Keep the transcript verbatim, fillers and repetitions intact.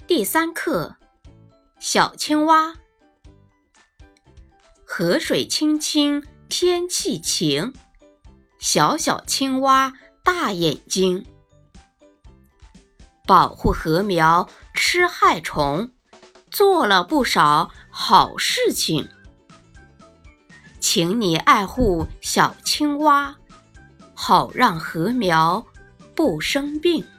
第三课，小青蛙。河水清清，天气晴，小小青蛙大眼睛。保护禾苗，吃害虫，做了不少好事情。请你爱护小青蛙，好让禾苗不生病。